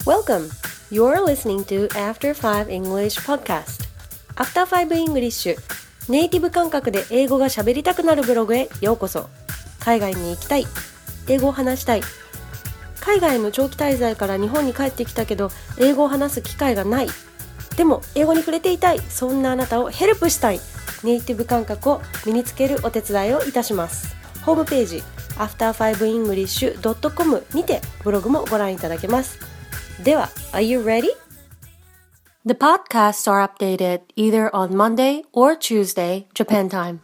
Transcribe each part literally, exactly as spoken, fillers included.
Welcome! You're listening to After five English Podcast. After five English ネイティブ感覚で英語が喋りたくなるブログへようこそ。海外に行きたい、英語を話したい、海外の長期滞在から日本に帰ってきたけど英語を話す機会がない、でも英語に触れていたい、そんなあなたをヘルプしたい、ネイティブ感覚を身につけるお手伝いをいたします。ホームページ アフターファイブイングリッシュドットコム にてブログもご覧いただけます。では、Are you ready? The podcasts are updated either on Monday or Tuesday, Japan time.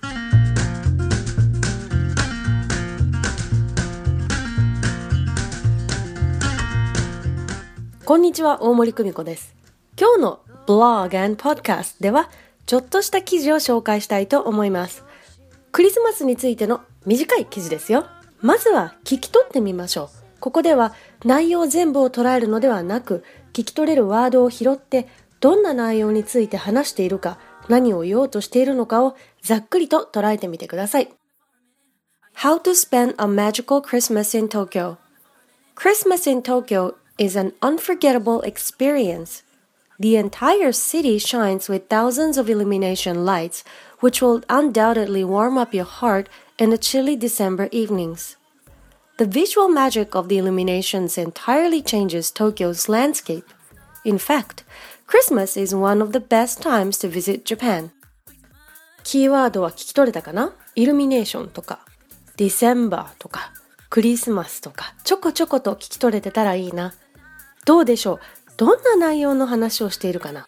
こんにちは、大森久美子です。今日の Blog and Podcast では、ちょっとした記事を紹介したいと思います。クリスマスについての短い記事ですよ。まずは聞き取ってみましょう。ここでは内容全部を捉えるのではなく、聞き取れるワードを拾って、どんな内容について話しているか、何を言おうとしているのかをざっくりと捉えてみてください。How to spend a magical Christmas in Tokyo. Christmas in Tokyo is an unforgettable experience. The entire city shines with thousands of illumination lights, which will undoubtedly warm up your heart in the chilly December evenings.The visual magic of the illuminations entirely changes Tokyo's landscape. In fact, Christmas is one of the best times to visit Japan. キーワードは聞き取れたかな？イルミネーションとか、December とか、クリスマスとか、ちょこちょこと聞き取れてたらいいな。どうでしょう？どんな内容の話をしているかな？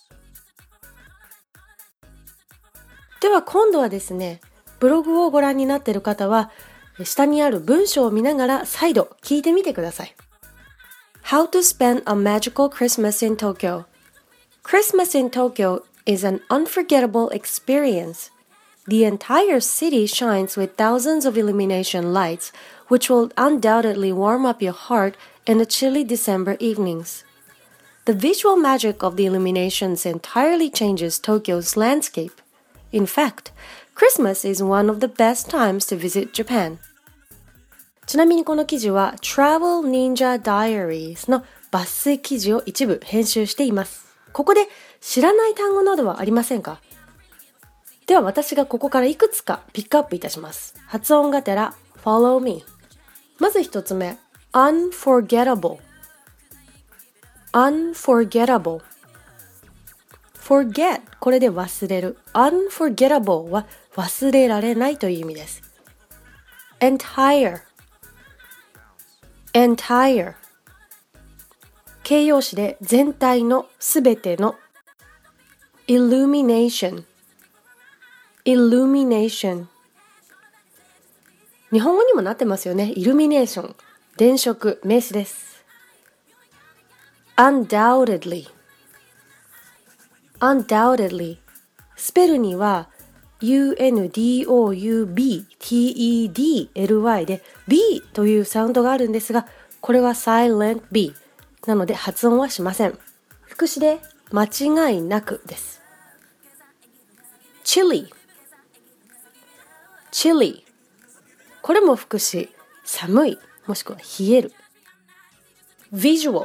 では今度はですね、ブログをご覧になっている方は、下にある文章を見ながら再度聞いてみてください。How to spend a magical Christmas in Tokyo. Christmas in Tokyo is an unforgettable experience. The entire city shines with thousands of illumination lights, which will undoubtedly warm up your heart in the chilly December evenings. The visual magic of the illuminations entirely changes Tokyo's landscape. In fact, Christmas is one of the best times to visit Japan.ちなみにこの記事は Travel Ninja Diaries の抜粋記事を一部編集しています。ここで知らない単語などはありませんか？では私がここからいくつかピックアップいたします。発音がてら Follow me。まず一つ目 Unforgettable Unforgettable Forget これで忘れる。Unforgettable は忘れられないという意味です。Entire entire 形容詞で全体のすべての illumination illumination 日本語にもなってますよね。イルミネーション、電飾、名詞です。undoubtedly undoubtedly スペルにはユーエヌディーオーユービーティーイーディーエルワイ で B というサウンドがあるんですが、これは silent B なので発音はしません。副詞で間違いなくです。chilly chilly これも副詞、寒いもしくは冷える。visual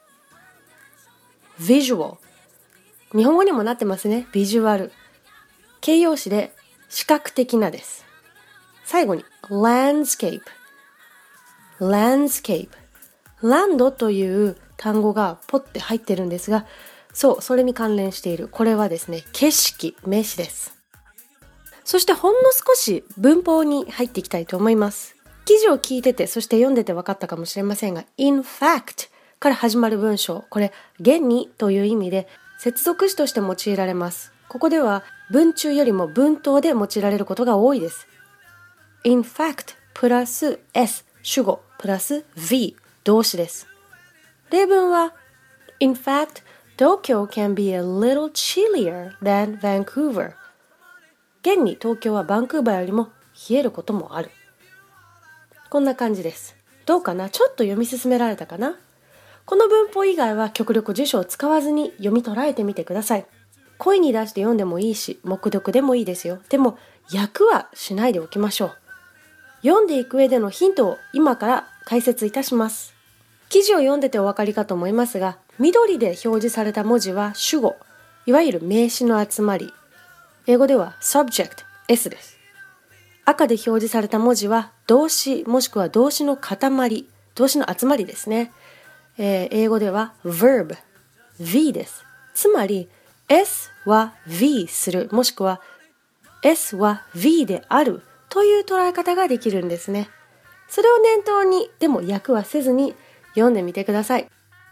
visual 日本語にもなってますね。ビジュアル形容詞で視覚的なです。最後に landscape landscape ランドという単語がポッて入ってるんですが、そう、それに関連している。これはですね、景色、名詞です。そしてほんの少し文法に入っていきたいと思います。記事を聞いてて、そして読んでて分かったかもしれませんが、in fact から始まる文章、これ現にという意味で接続詞として用いられます。ここでは文中よりも文頭で用いられることが多いです。in fact プラス S 主語プラス V 動詞です。例文は In fact, Tokyo can be a little chillier than Vancouver. 現に東京はバンクーバーよりも冷えることもある。こんな感じです。どうかな？ちょっと読み進められたかな？この文法以外は極力辞書を使わずに読み捉えてみてください。声に出して読んでもいいし、黙読でもいいですよ。でも、訳はしないでおきましょう。読んでいく上でのヒントを今から解説いたします。 記事を読んでてお分かりかと思いますが、緑で表示された文字は主語、いわゆる名詞の集まり。英語では subject、S です。赤で表示された文字は動詞もしくは動詞の塊、動詞の集まりですね。えー、英語では verb、V です。つまり S は V する、もしくは S は V であるという捉え方ができるんですね。それを念頭に、でも訳はせずに読んでみてください。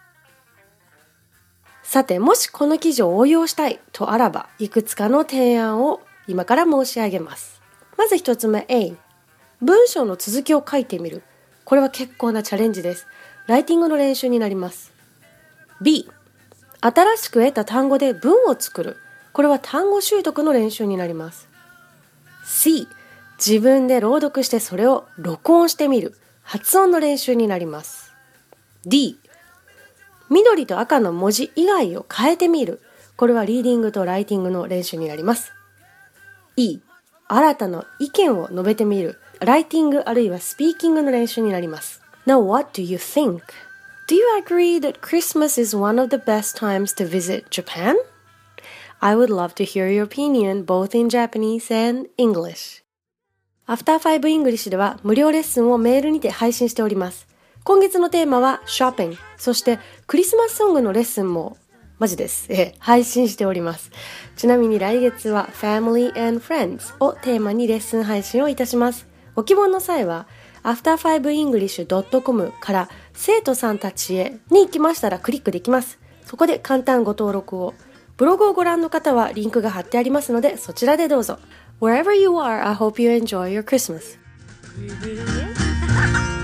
さて、もしこの記事を応用したいとあらば、いくつかの提案を今から申し上げます。まず一つ目 A、文章の続きを書いてみる。これは結構なチャレンジです。ライティングの練習になります。B、新しく得た単語で文を作る。これは単語習得の練習になります。C、自分で朗読してそれを録音してみる。発音の練習になります。D、緑と赤の文字以外を変えてみる。これはリーディングとライティングの練習になります。E、新たな意見を述べてみる。ライティングあるいはスピーキングの練習になります。Now what do you think? Do you agree that Christmas is one of the best times to visit Japan? I would love to hear your opinion both in Japanese and English. アフターファイブ English では無料レッスンをメールにて配信しております。今月のテーマはショッピング、そしてクリスマスソングのレッスンもマジです、え配信しております。ちなみに来月は Family and Friends をテーマにレッスン配信をいたします。ご希望の際は アフターファイブイングリッシュドットコム から生徒さんたちへに行きましたらクリックできます。そこで簡単ご登録を。ブログをご覧の方はリンクが貼ってありますのでそちらでどうぞ。Wherever you are, I hope you enjoy your Christmas.